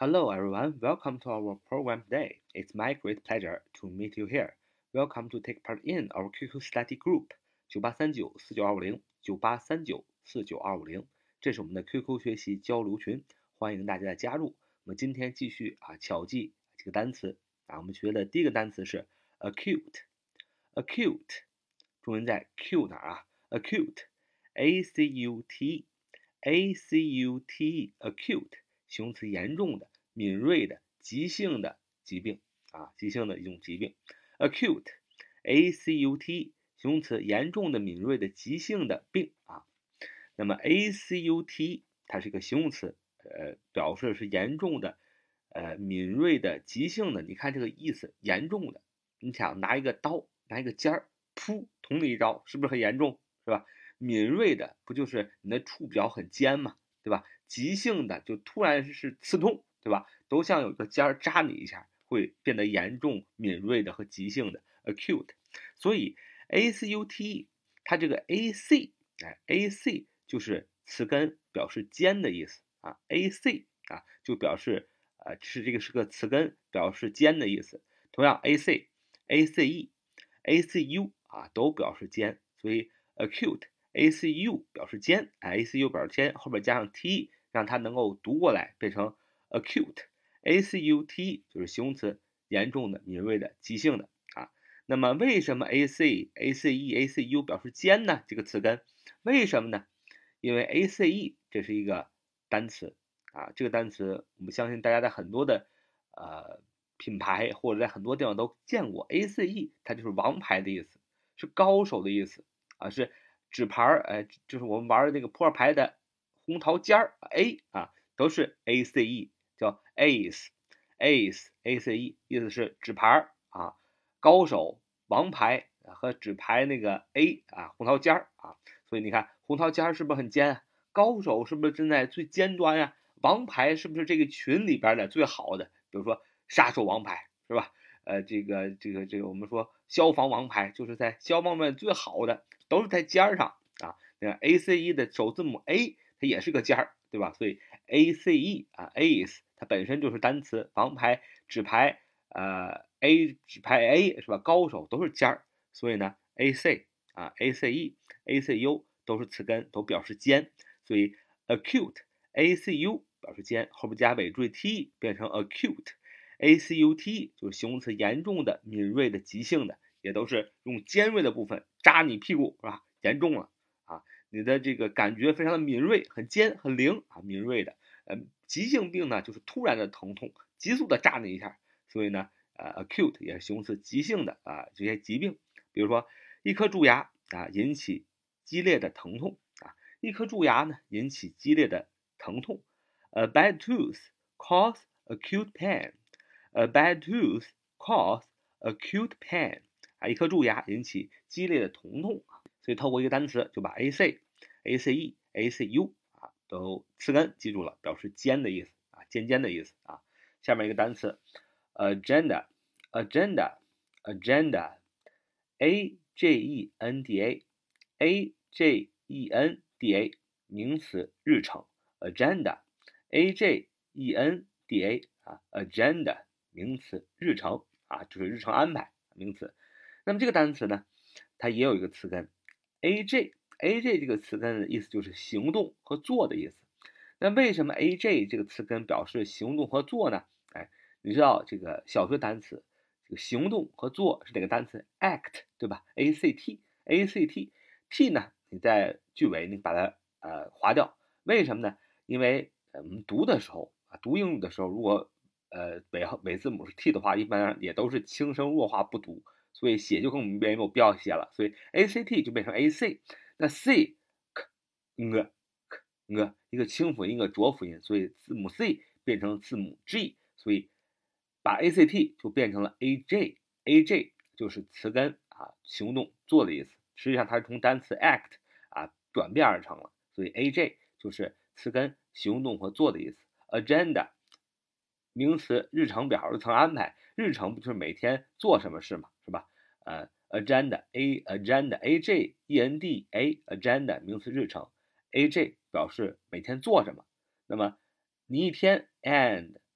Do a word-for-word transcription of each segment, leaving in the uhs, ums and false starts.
Hello everyone, welcome to our program today. It's my great pleasure to meet you here. Welcome to take part in our Q Q study group 九八三九四九二五零 九八三九四九二五零，这是我们的 Q Q 学习交流群，欢迎大家的加入。我们今天继续啊巧记这个单词啊，我们学的第一个单词是 acute，acute， 重音在 Q 哪儿啊 ？acute，a c u t e，a c u t e，acute。形容词严重的、敏锐的、急性的疾病啊，急性的一种疾病。acute, a c u t 形容词严重的、敏锐的、急性的病啊。那么 a c u t 它是一个形容词，呃，表示是严重的、呃敏锐的、急性的。你看这个意思，严重的。你想拿一个刀，拿一个尖儿，噗，捅你一刀，是不是很严重？是吧？敏锐的不就是你的触角很尖嘛？对吧？急性的就突然是刺痛，对吧？都像有个尖儿扎你一下，会变得严重、敏锐的和急性的 acute。所以 acute 它这个 ac 哎 ac 就是词根表示尖的意思啊 ac 啊就表示呃是这个是个词根表示尖的意思。同样 ac ace acu 啊都表示尖，所以 acute。acu 表示尖 ，acu 表示尖，后边加上 te， 让它能够读过来，变成 acute。acute 就是形容词，严重的、敏锐的、急性的啊。那么为什么 ac、ace、acu 表示尖呢？这个词根为什么呢？因为 ace 这是一个单词啊，这个单词我们相信大家在很多的呃品牌或者在很多地方都见过 ace， 它就是王牌的意思，是高手的意思啊，是。纸牌儿，哎，就是我们玩的那个扑克牌的红桃尖儿 A 啊，都是 A C E， 叫 Ace，Ace，A C E， 意思是纸牌啊，高手、王牌和纸牌那个 A 啊，红桃尖儿啊，所以你看红桃尖儿是不是很尖啊？高手是不是站在最尖端呀？王牌是不是这个群里边的最好的？比如说杀手王牌是吧？呃，这个这个这个我们说消防王牌就是在消防面最好的。都是在尖上啊，那 A C E 的首字母 A 它也是个尖儿，对吧？所以 A C E 啊 ，Ace 它本身就是单词，王牌、纸牌，呃 A 纸牌 A 是吧？高手都是尖儿，所以呢 A C 啊 A C E A C U 都是词根，都表示尖，所以 acute A C U 表示尖，后边加尾缀 te 变成 acute。A C U T 就是形容词，严重的、敏锐的、急性的，也都是用尖锐的部分扎你屁股，是吧？严重了啊，你的这个感觉非常的敏锐，很尖、很灵啊，敏锐的。呃，急性病呢，就是突然的疼痛，急速的扎你一下，所以呢，呃，acute 也是形容词，急性的啊这些疾病，比如说一颗蛀牙啊引起激烈的疼痛啊，一颗蛀牙呢引起激烈的疼痛。A bad tooth cause acute pain。A bad tooth cause acute pain 啊，一颗蛀牙引起激烈的疼痛啊，所以透过一个单词就把 ac、ace、acu 啊都词根记住了，表示尖的意思啊，尖尖的意思啊。下面一个单词 agenda，agenda，agenda，a g e n d a，a g e n d a 名词，日程 agenda，a g e n d a 啊 agenda。名词，日程啊，就是日程安排名词。那么这个单词呢，它也有一个词根 aj，aj 这个词根的意思就是行动和做的意思。那为什么 aj 这个词根表示行动和做呢？哎，你知道这个小学单词，这个行动和做是哪个单词 ？act 对吧 ？act，act，t 呢？你在句尾你把它呃划掉，为什么呢？因为我们读的时候啊，读英语的时候，如果呃，尾尾字母是 t 的话，一般也都是轻声弱化不读，所以写就更没有必要写了。所以 act 就变成 ac， 那 c k ng k ng 一个清辅音一个浊辅音，所以字母 c 变成字母 g， 所以把 act 就变成了 aj，aj 就是词根啊，行动做的意思。实际上它是从单词 act 啊转变而成了，所以 aj 就是词根行动和做的意思。agenda名词，日程表、日程安排，日程不就是每天做什么事嘛，是吧？呃 ，agenda，a agenda，a j e n d a agenda 名词，日程 ，a j 表示每天做什么。那么你一天 and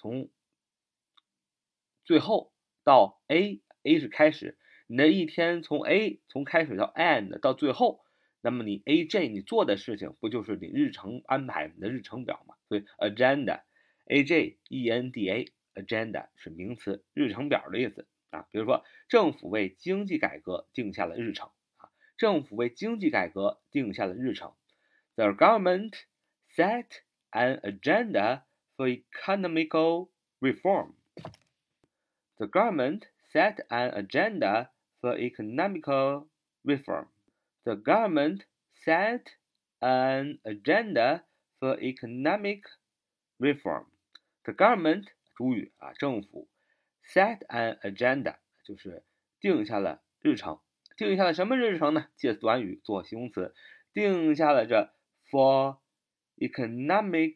从最后到 A，A 是开始，你的一天从 A 从开始到 end 到最后，那么你 A J 你做的事情不就是你日程安排你的日程表吗？所以 agenda A J E N D A agenda 是名词，日程表的意思啊。比如说政府为经济改革定下了日程啊，政府为经济改革定下了日程。The government set an agenda for economical reform. The government set an agenda for economical reform. The government set an agenda for economic reform. The government 主语啊，政府 set an agenda 就是定下了日程，定下了什么日程呢？介词短语做形容词，定下了这 for economic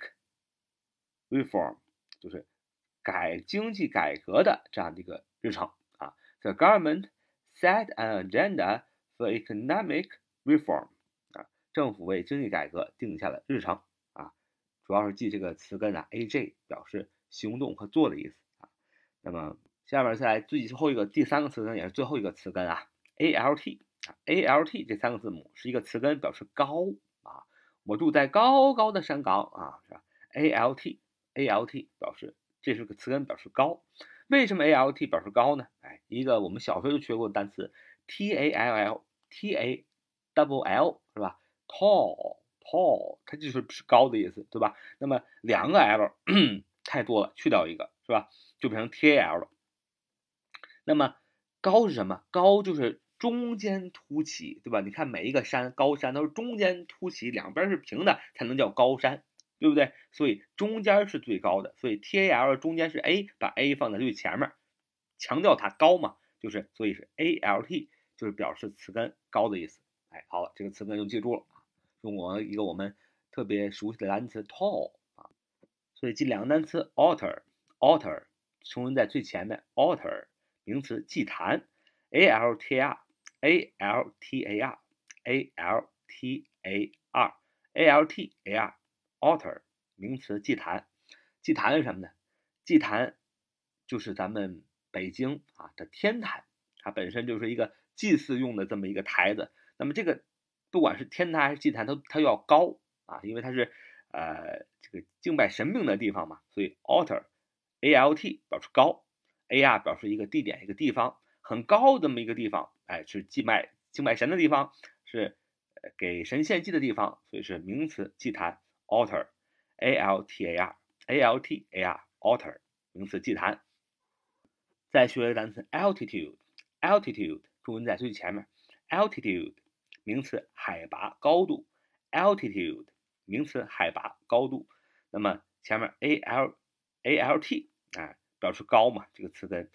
reform 就是改经济改革的这样的一个日程啊。The government set an agenda for economic reform 啊，政府为经济改革定下了日程啊，主要是记这个词根啊 A J 表示行动和做的意思啊。那么下面再来最后一个第三个词根也是最后一个词根啊 A L T 啊 A L T 这三个字母是一个词根，表示高啊，我住在高高的山岗啊，是吧 ？A L T A L T 表示这是个词根，表示高。为什么 A L T 表示高呢？哎，一个我们小学就学过的单词 T A L L T A double L 是吧 ？tall tall 它就是是高的意思，对吧？那么两个 L 太多了，去掉一个是吧？就变成 T A L 了。那么高是什么？高就是中间凸起，对吧？你看每一个山，高山都是中间凸起，两边是平的，才能叫高山，对不对？所以中间是最高的，所以 T A L 中间是 A， 把 A 放在最前面，强调它高嘛，就是所以是 A L T， 就是表示词根高的意思。哎，好了，这个词根就记住了。中国一个我们特别熟悉的单词 tall 啊，所以记两个单词 altar altar 重音在最前面 altar。名词祭坛 A L T A R A L T A R A L T A R A L T A R altar 名词祭坛，祭坛是什么呢？祭坛就是咱们北京啊的天坛，它本身就是一个祭祀用的这么一个台子。那么这个不管是天坛还是祭坛，它它要高啊，因为它是呃这个敬拜神明的地方嘛，所以 altar A L T 表示高。A R 表示一个地点一个地方，很高的这么一个地方，哎，是祭拜敬拜神的地方，是给神献祭的地方，所以是名词祭坛 altar A L T A R A L T A R altar 名词祭坛。再学一个单词 altitude altitude 中文在最前面 altitude 名词海拔高度 altitude 名词海拔高度，那么前面 A L A L T 哎。表示高嘛，这个词根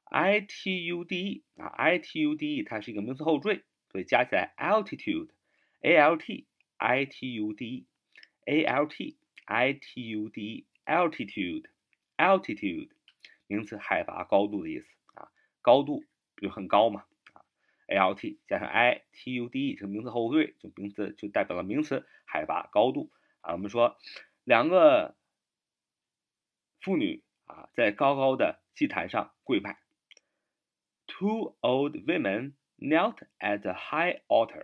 I T U D E 啊 I T U D E 它是一个名词后缀，所以加起来 altitude A L T I T U D E A L T I T U D E altitude altitude 名词海拔高度的意思啊，高度就很高嘛啊 A L T 加上 I T U D E 这个名词后缀，就名词就代表了名词海拔高度啊。我们说两个妇女啊，在高高的祭坛上跪拜。Two old women knelt at the high altar.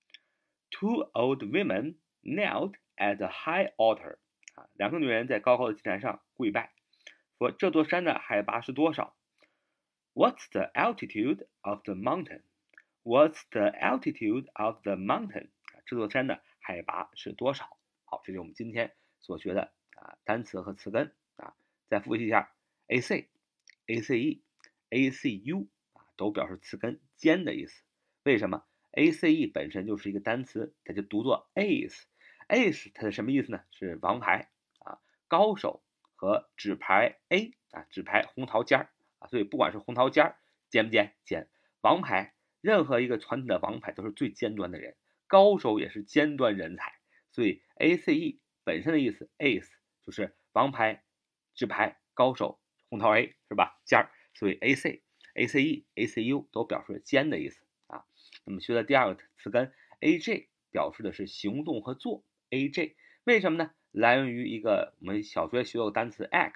Two old women knelt at the high altar. 啊，两个女人在高高的祭坛上跪拜，说这座山的海拔是多少 ？What's the altitude of the mountain? What's the altitude of the mountain? 这座山的海拔是多少？好，这就是我们今天所学的啊单词和词根啊。再复习一下 A C、A C E、A C U 啊，都表示词根尖的意思。为什么 ？A C E 本身就是一个单词，它就读作 ace。ace 它是什么意思呢？是王牌啊，高手和纸牌 A 啊，纸牌红桃尖儿啊，所以不管是红桃尖儿尖不尖尖，王牌任何一个传统的王牌都是最尖端的人，高手也是尖端人才，所以 A C E 本身的意思 ace 就是王牌。纸牌高手红桃 A 是吧？尖儿，所以 A C、A C E、A C U 都表示尖的意思啊。那么学的第二个词根 A J 表示的是行动和做 A J， 为什么呢？来源于一个我们小学学过的单词 act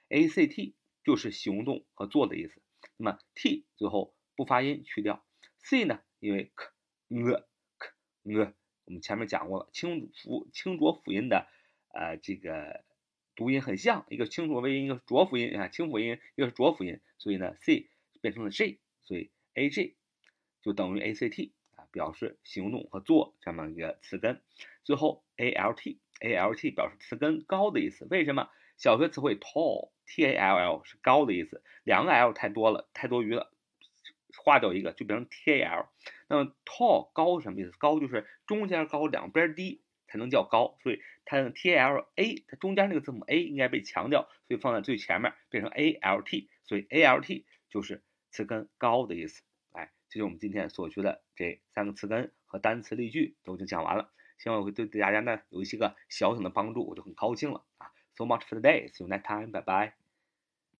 A C T 就是行动和做的意思。那么 T 最后不发音去掉。C 呢，因为 k、呃、k、呃，我们前面讲过了，清辅清浊辅音的呃这个读音很像，一个清浊微音，一个是浊辅音啊，清辅音，一个是浊辅音，所以呢 C 变成了 J， 所以 A J 就等于 A C T 啊，表示行动和做这么一个词根。最后 A L T，A L T 表示词根高的意思。为什么？小学词汇 tall，T A L L 是高的意思，两个 L 太多了，太多余了，划掉一个就变成 T A L。那么 tall 高是什么意思？高就是中间高，两边低才能叫高，所以它的 T A L A， 它中间那个字母 A 应该被强调，所以放在最前面变成 A L T， 所以 A L T 就是词根高的意思。哎，这就是我们今天所学的这三个词根和单词例句都已经讲完了，希望我会对大家呢有一些个小小的帮助，我就很高兴了啊。So much for today. See you next time. Bye bye.